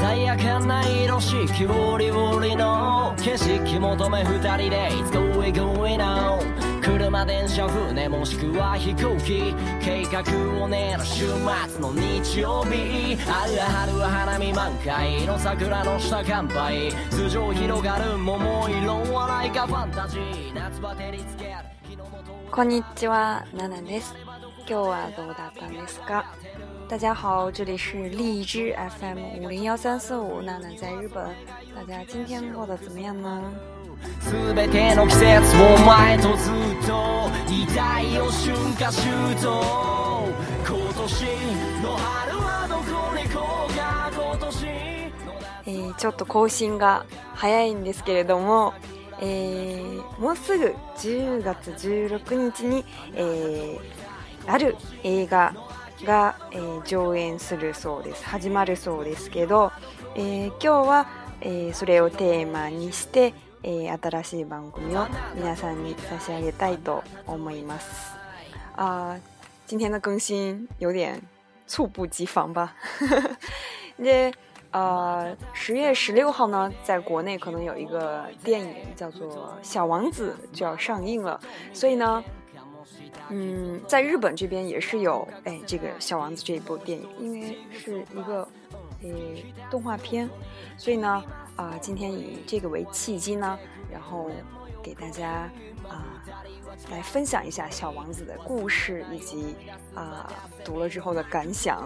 鮮やかな色四季折々の景色求め二人で It's going going on 車電車船もしくは飛行機計画を練る週末の日曜日ある春は花見満開の桜の下乾杯頭上広がる桃色笑いがファンタジー夏バテにつけるこんにちは，娜娜です。今日はどうだったんですか？大家好，这里是荔枝 FM50135，娜娜在日本。大家今天过得怎么样呢？ 全ての季節を前とずっと遺体を春夏秋冬今年の春はどこに行こうか今年ちょっと更新が早いんですけれども、もうすぐ10月16日に、ある映画が、上演するそうです。始まるそうですけど、今日は、それをテーマにして、新しい番組を皆さんに差し上げたいと思います。今天的更新有点猝不及防吧。で10月16号呢，在国内可能有一个电影叫做《小王子》就要上映了，所以呢，在日本这边也是有这个《小王子》这一部电影，因为是一个动画片，所以呢今天以这个为契机呢，然后给大家来分享一下《小王子》的故事以及读了之后的感想。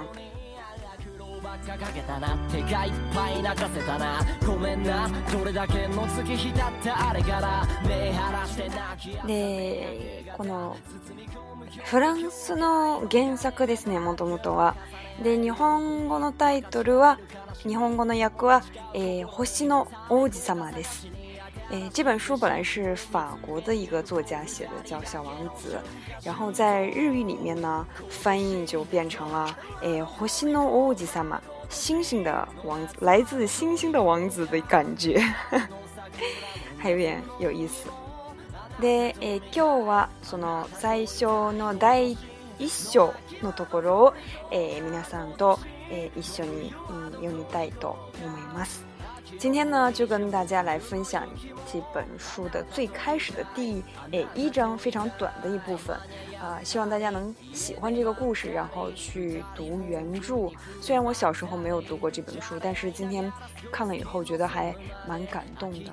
でこのフランスの原作ですね、もともとは。で日本語のタイトルは日本語の訳は、星の王子様です。这本书本来是法国的一个作家写的，叫《小王子》，然后在日语里面呢，翻译就变成了星の王子様，星星的王子，来自星星的王子的感觉，还有点有意思。で、今日はその最初の第一章のところを、皆さんと、一緒に読みたいと思います。今天呢，就跟大家来分享这本书的最开始的第一章，非常短的一部分。希望大家能喜欢这个故事，然后去读原著。虽然我小时候没有读过这本書，但是今天看了以後覺得還蠻感動的。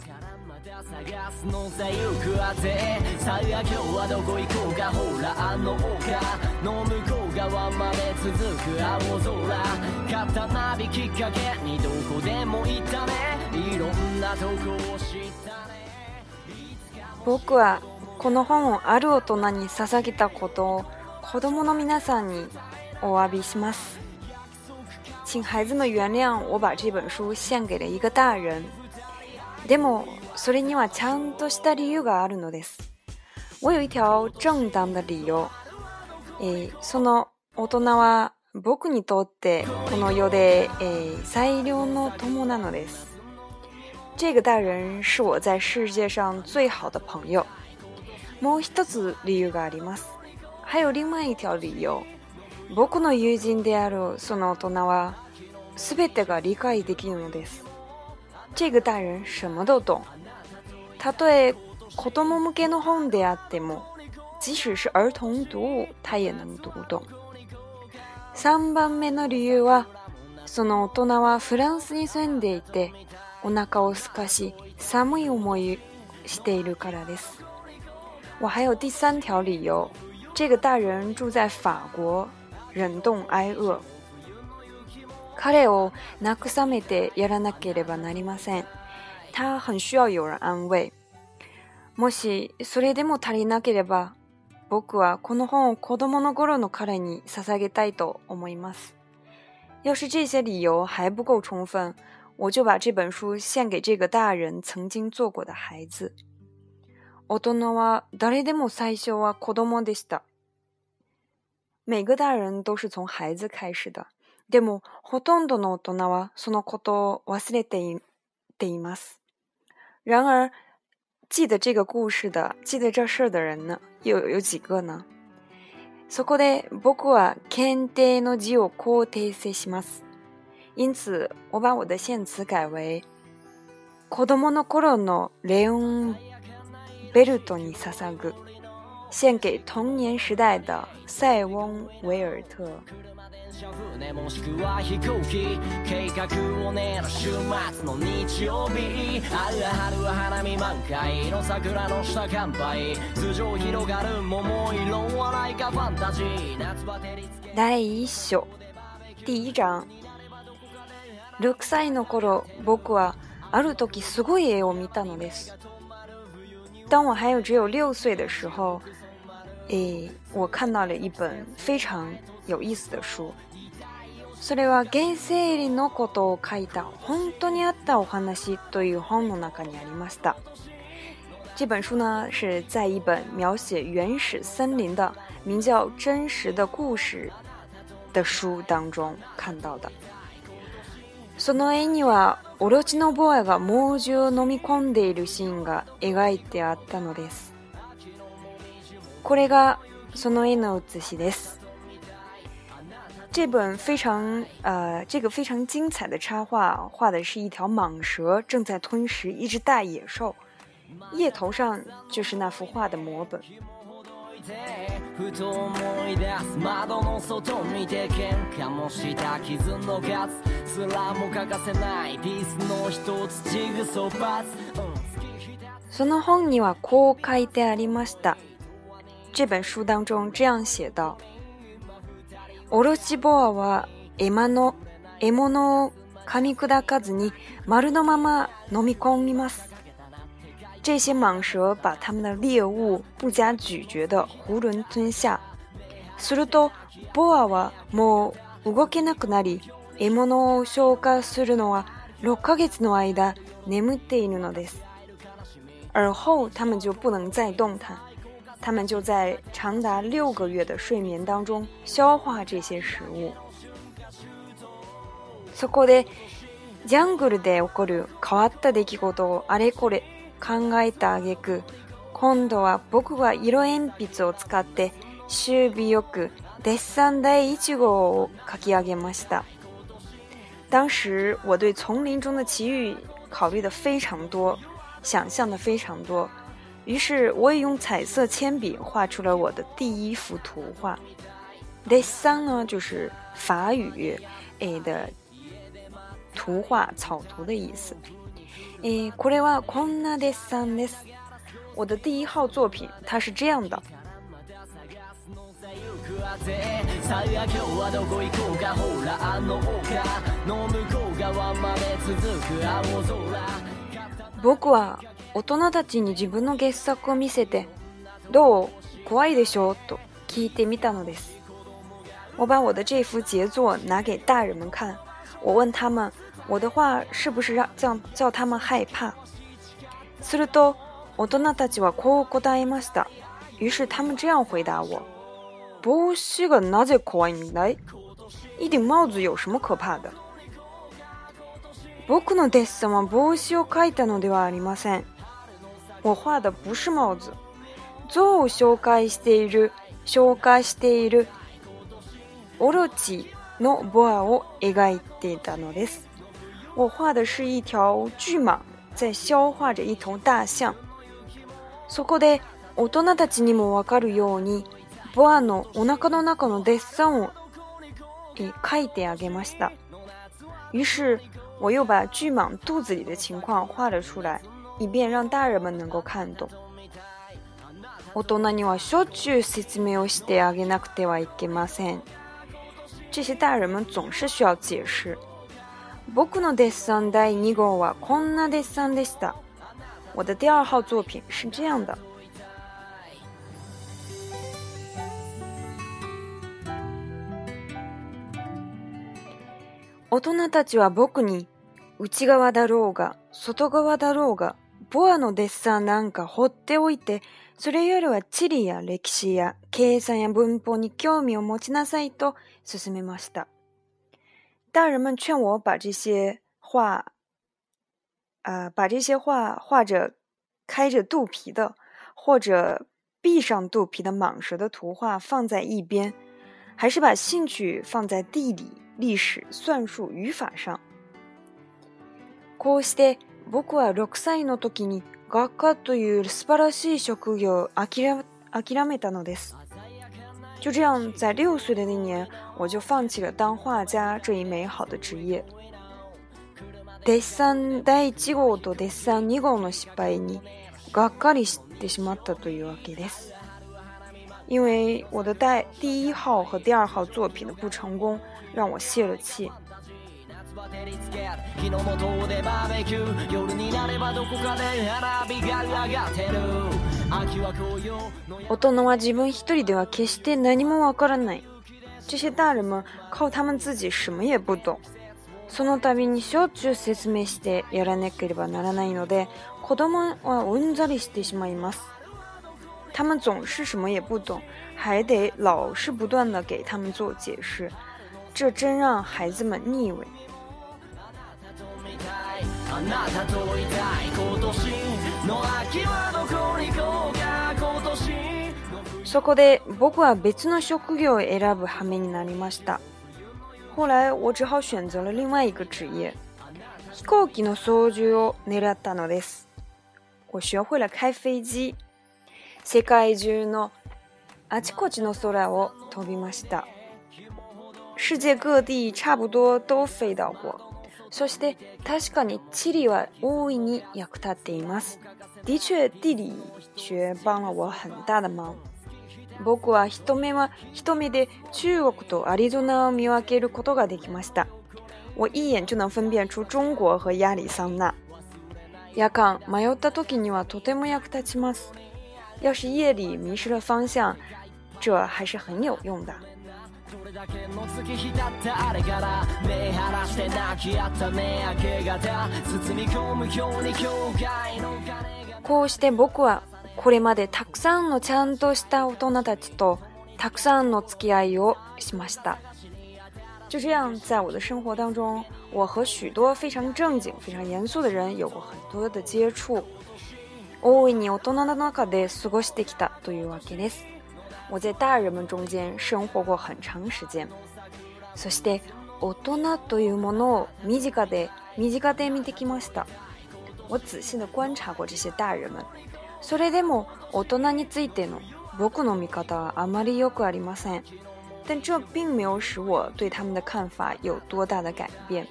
さあ今日はどこ行こうかほらあの丘の向こう側まで続く青空刀引きかけにどこでもいたねいろんなとこを知ったね僕はこの本をある大人に捧げたことを子供の皆さんにお詫びします。请孩子们原谅我把这本书献给了一个大人。でもそれにはちゃんとした理由があるのです。我有一条正当的理由。その大人は僕にとってこの世で、最良の友なのです。这个大人是我在世界上最好的朋友。もう一つ理由があります。还有另外一条理由。僕の友人であるその大人は全てが理解できるのです。这个大人什么都懂。たとえ子供向けの本であっても、即使是儿童读物，他也能读懂。3番目の理由は、その大人はフランスに住んでいて、お腹を空かし、寒い思いしているからです。我还有第3条理由，这个大人住在法国，忍冻挨饿。彼を慰めてやらなければなりません。他很需要有人安慰。もしそれでも足りなければ、僕はこの本を子供の頃の彼に捧げたいと思います。要是这些理由还不够充分，我就把这本书献给这个大人曾经做过的孩子。大人は誰でも最初は子供でした。每个大人都是从孩子开始的。でもほとんどの大人はそのことを忘れています。然而记得这个故事的记得这事的人呢有几个呢？そこで僕は検定の字をこう訂正します。 因此我把我的献词改为子供の頃のレオンベルトに捧ぐ，献给童年时代的塞翁维尔特。 もしくは飛行機計画を練る週末の日曜日春は花見満開の桜の下乾杯頭上広がる桃色笑いかファンタジー夏は照りつけ第一章第一章6歳の頃僕はある時すごい絵を見たのです。当我还有只有6岁的时候我看到了一本非常有意思的书。それは原生林のことを書いた本当にあったお話という本の中にありました。这本书呢是在一本描写原始森林的名叫《真实的故事》的书当中看到的。その絵にはオロチのボアが猛獣を飲み込んでいるシーンが描いてあったのです。これがその絵の写しです。这个非常精彩的插画画的是一条蟒蛇正在吞食一只大野兽，页头上就是那幅画的摹本。 ふと思い出す窓の外見て喧嘩もした傷の数すらも欠かせないピースの一つジグソーパーツその本にはこう書いてありました。这本书当中这样写道：オロチボアは獲物を噛み砕かずに丸のまま飲み込みます。这些蟒蛇把它们的猎物不加咀嚼的囫囵吞下。するとボアはもう動けなくなり、獲物を消化するのは6ヶ月の間眠っているのです。而后它们就不能再动弹，它们就在长达6个月的睡眠当中消化这些食物。そこでジャングルで起こる変わった出来事をあれこれ考えた挙句、今度は僕は色鉛筆を使って終尾よくデッサン第1号を書き上げました。当时我对丛林中的奇遇考虑的非常多，想象的非常多，于是我也用彩色铅笔画出了我的第一幅图画。デッサン呢就是法语的图画草图的意思。これはこんなデッサンです。我的第一号作品它是这样的。 さあ今日はどこ行こうかほらあの丘の向こう側まで続く青空。 僕は大人たちに自分の傑作を見せてどう怖いでしょうと聞いてみたのです。我把我的这幅杰作拿给大人们看，我问他们我的画是不是叫他们害怕。すると大人たちはこう答えました。于是他们这样回答我：帽子がなぜ怖いんだい？一顶帽子有什么可怕的？僕のデッサンは帽子を描いたのではありません。我画的不是帽子。象を紹介しているオロチのボアを描いていたのです。我画的是一条巨蟒在消化着一头大象。そこで大人たちにもわかるようにボアのお腹の中のデッサンを描いてあげました。于是我又把巨蟒肚子里的情况画了出来，以便让大人们能够看懂。大人にはしょっちゅう説明をしてあげなくてはいけません。这些大人们总是需要解释。僕のデッサン第2号はこんなデッサンでした。我的第2号作品是这样的。大人たちは僕に内側だろうが外側だろうがボアのデッサンなんか放っておいて、それよりは地理や歴史や計算や文法に興味を持ちなさいと勧めました。大人们劝我把这些画画着开着肚皮的或者闭上肚皮的蟒蛇的图画放在一边，还是把兴趣放在地理历史、算术、语法上。こうして僕は6歳の時に画家という素晴らしい職業を諦めたのです。就这样，在6岁的那年，我就放弃了当画家这一美好的职业。デッサン第1号とデッサン2号の失敗にがっかりしてしまったというわけです。因为我的第1号和第2号作品的不成功，让我泄了气。大人は自分一人では決して何もわからない。这些大人们靠他们自己什么也不懂。その度にしょっちゅう説明してやらなければならないので、子供はうんざりしてしまいます。他们总是什么也不懂，还得老是不断地给他们做解释，这真让孩子们腻味。そこで僕は別の職業を選ぶ羽目になりました。后来我只好选择了另外一个职业，飛行機の操縦を狙ったのです。我学会了开飞机。世界中のあちこちの空を飛びました。世界各地差不多都飞到过。そして確かに地理は大いに役立っています。的确，地理学帮了我很大的忙。僕は一目で中国とアリゾナを見分けることができました。我一眼就能分辨出中国和亚利桑那。夜間迷った時にはとても役立ちます。要是夜里迷失了方向，这还是很有用的。こうして僕はこれまでたくさんのちゃんとした大人たちとたくさんの付き合いをしました。就这样，在我的生活当中，我和许多非常正经、非常严肃的人有过很多的接触。大いに大人の中で過ごしてきたというわけです。我在大人们中间生活过很长时间。そして大人というものを身近で見てきました。我仔细地观察过这些大人们。それでも大人についての僕の見方はあまり良くありません。但这并没有使我对他们的看法有多大的改变。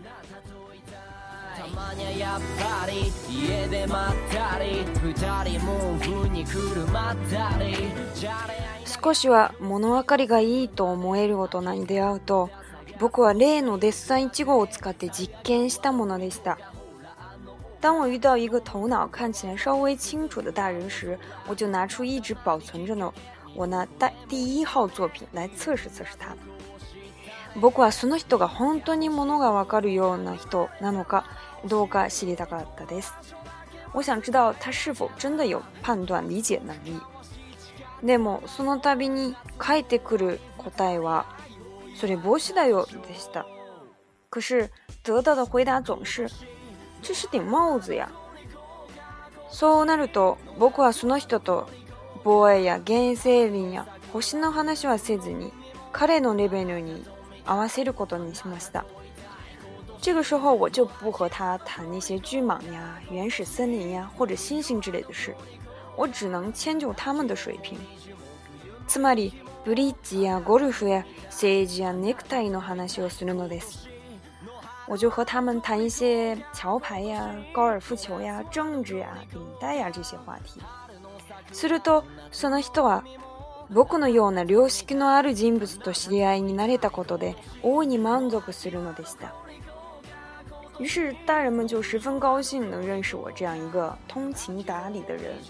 少しは物分かりがいいと思える大人に出会うと、僕は例のデッサン1号を使って実験したものでした。当我遇到一个头脑看起来稍微清楚的大人时，我就拿出一直保存着的我那第1号作品来測試他。僕はその人が本当に物がわかるような人なのかどうか知りたかったです。我想知道他是否真的有判断理解能力。でもその度に返ってくる答えはそれ帽子だよでした。可是得到的回答总是这是顶帽子呀。そうなると僕はその人と防衛や原生林や星の話はせずに彼のレベルに合わせることにしました。这个时候我就不和他谈那些巨蟒呀、原始森林呀或者星星之类的事，我只能迁就他们的水平。つまりブリッジやゴルフや政治やネクタイの話をするのです。我就和他们谈一些桥牌呀、高尔夫球呀、政治呀、领带呀这些话题。するとその人は僕のような良識のある人物と知り合いになれたことで大いに満足するのでした。于是大人们就十分高兴能认识我这样一个通情达理的人。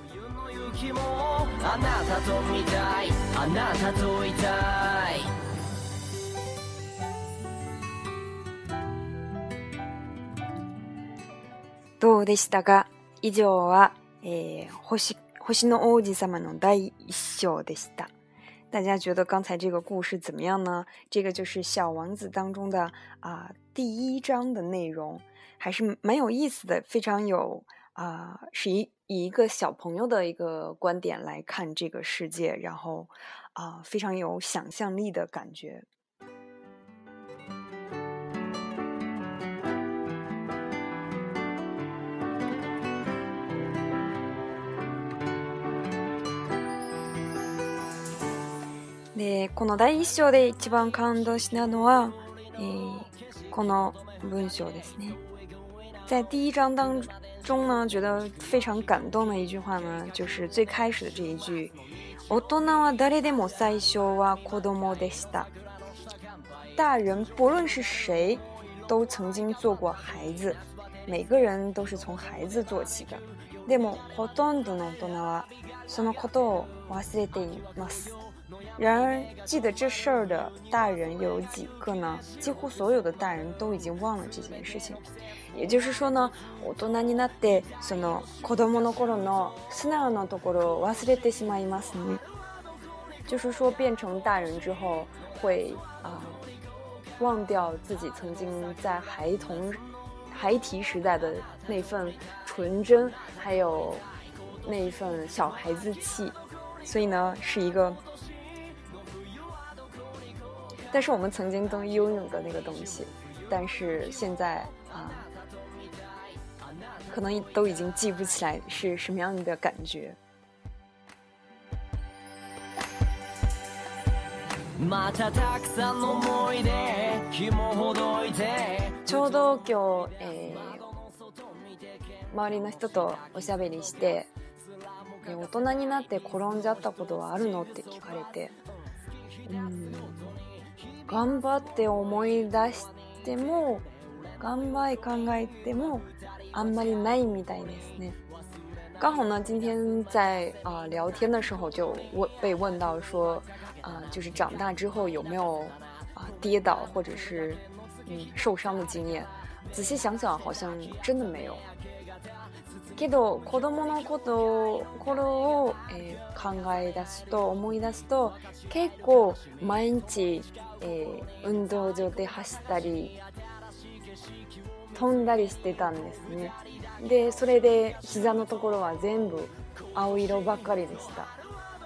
どうでしたか？以上は、星の王子様の第1章でした。大家觉得刚才这个故事怎么样呢？这个就是小王子当中的第1章的内容，还是蛮有意思的，非常有是以一个小朋友的一个观点来看这个世界，然后非常有想象力的感觉。 でこの第一章で一番感動したのは、この文章ですね。在第一章当中呢，觉得非常感动的一句话呢，就是最开始的这一句：大人は誰でも最初は子供でした。大人不论是谁，都曾经做过孩子，每个人都是从孩子做起的。でもほとんどの大人はそのことを忘れています。然而记得这事儿的大人有几个呢？几乎所有的大人都已经忘了这件事情。也就是说呢，大人になってその子供の頃の素直なところを忘れてしまいますね。就是说变成大人之后会忘掉自己曾经在孩提时代的那份纯真，还有那份小孩子气。所以呢，是一个但是我们曾经都拥有的那个东西，但是现在可能都已经记不起来是什么样的感觉。ちょうど今日、周りの人とおしゃべりして、大人になって転んじゃったことはあるのって聞かれて、頑張って思い出しても頑張り考えてもあんまりないみたいですね。刚好呢，今天在聊天的时候就被问到说，就是长大之后有没有跌倒或者是受伤的经验。仔细想想，好像真的没有。けど子供の頃を、考え出すと思い出すと結構毎日、運動場で走ったり飛んだりしてたんですね。でそれで膝のところは全部青色ばかりでした。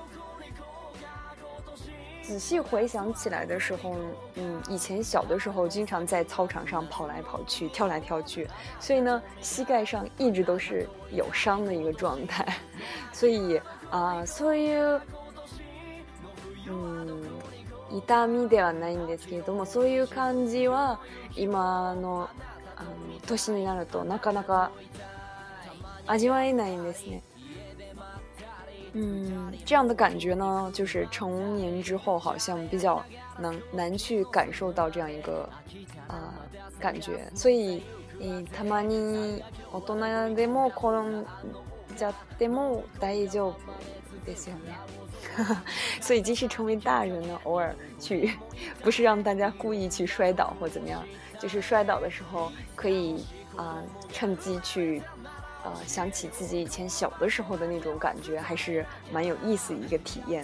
仔细回想起来的时候，以前小的时候经常在操场上跑来跑去，跳来跳去，所以呢，膝盖上一直都是有伤的一个状态。所以そういう痛みではないんですけれども、そういう感じは今の年になるとなかなか味わえないんですね。这样的感觉呢，就是成年之后好像比较难去感受到这样一个感觉。所以たまに大人でも転んじゃっても大丈夫ですよね。所以即使成为大人呢，偶尔去不是让大家故意去摔倒或怎么样，就是摔倒的时候可以趁机去想起自己以前小的时候的那种感觉，还是蛮有意思的一个体验。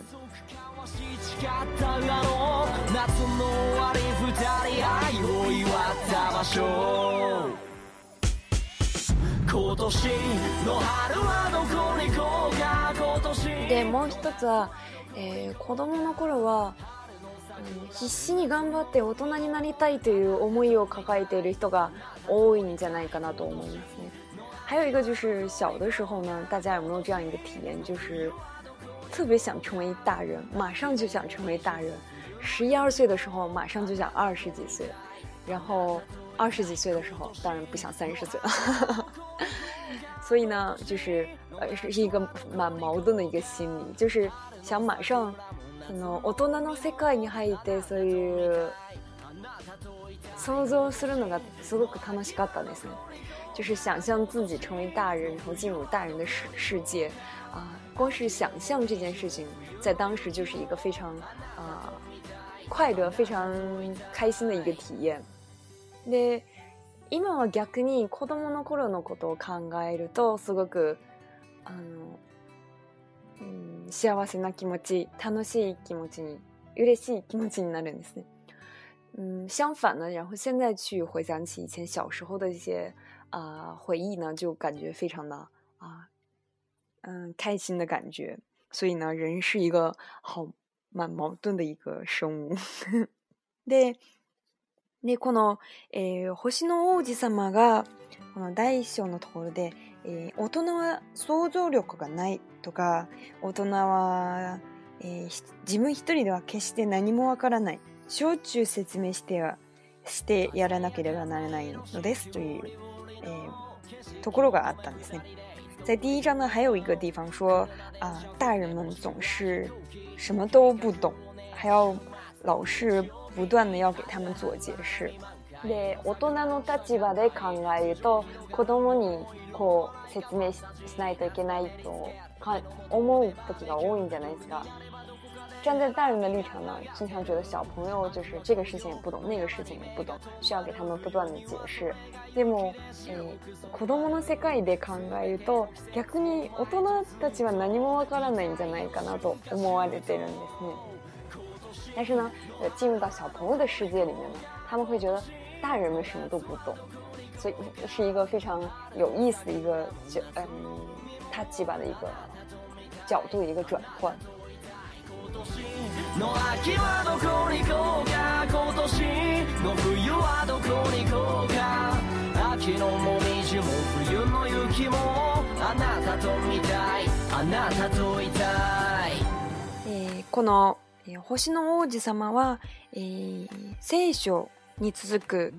でもう一つは、子供の頃は必死に頑張って大人になりたいという思いを抱えている人が多いんじゃないかなと思いますね。还有一个就是小的时候呢，大家有没有这样一个体验，就是特别想成为大人，马上就想成为大人。11、12岁的时候马上就想20几岁，然后20几岁的时候当然不想30岁了。所以呢，就是是一个蛮矛盾的一个心理，就是想马上大人の世界に入ってそういう想像するのがすごく楽しかったですね。就是想象自己成为大人，然后进入大人的世界光是想象这件事情在当时就是一个非常快乐非常开心的一个体验。で今は逆に子供の頃のことを考えるとすごく幸せな気持ち、楽しい気持ちに、嬉しい気持ちになるんですね。相反呢，然后现在去回想起以前小时候的一些回忆呢，就感觉非常的开心的感觉。所以呢，人是一个蛮矛盾的一个生物。でこの、星の王子様がこの第一章のところで、大人は想像力がないとか、大人は、 自分一人では決して何もわからない。しょっちゅう説明してやらなければならないのですという、ところがあったんですね。在第一章呢，还有一个地方说大人们总是什么都不懂，还要老是不断的要给他们做解释。で、大人の立場で考えると、子供にこう説明 しないといけないと思う時が多いんじゃないですか。站在大人的立場呢，经常觉得小朋友就是这个事情也不懂，那个事情也不懂，需要给他们不断的解释。でも、子供の世界で考えると、逆に大人たちは何もわからないんじゃないかなと思われてるんですね。但是呢，进入到小朋友的世界里面呢，他们会觉得大人们什么都不懂，所以是一个非常有意思的一个立場的一个角度的一个转换。の秋はどこに行こうか、今年の冬はどこに行こうか、秋のもみじも冬の雪もあなたと見たい、あなたといたい。この星の王子様は、聖書に続く、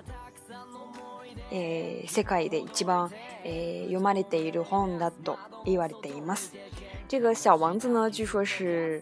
世界で一番、読まれている本だと言われています。这个小王子呢，据说是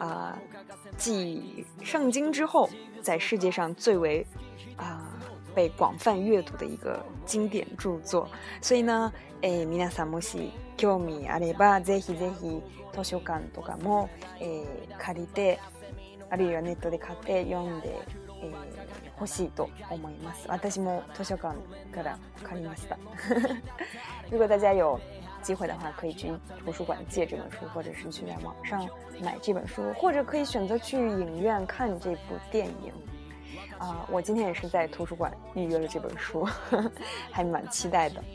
继圣经之后，在世界上最为被广泛阅读的一个经典著作。所以呢，皆さんもし興味あれば、ぜひぜひ図書館とかも、借りて、あるいはネットで買って読んで、欲しいと思います。私も図書館から借りました。如果大家有机会的话，可以去图书馆借这本书，或者是去在网上买这本书，或者可以选择去影院看这部电影。我今天也是在图书馆预约了这本书，还蛮期待的。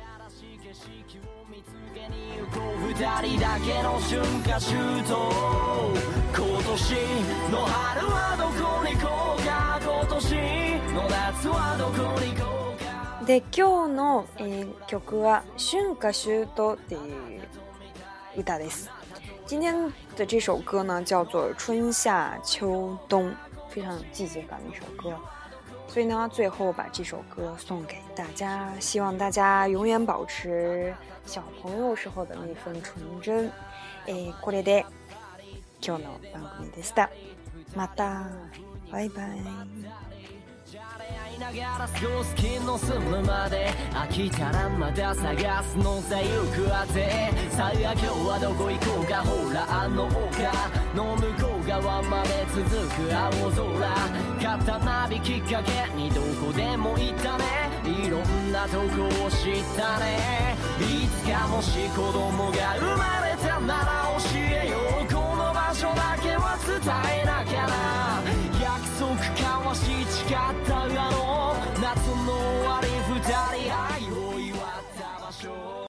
で、今日の、曲は春夏秋冬っていう歌です。今天的这首歌呢叫做春夏秋冬，非常有季节感的一首歌。所以呢，最后把这首歌送给大家，希望大家永远保持小朋友时候的那份纯真。これで今日の番組でした。また、バイバイ。ながら過ごす気の済むまで、飽きたらまだ探すのさ行くあて。さあ今日はどこ行こうか、ほらあの丘の向こう側まで続く青空、肩なびきっかけにどこでも行ったね、いろんなとこを知ったね。いつかもし子供が生まれたなら教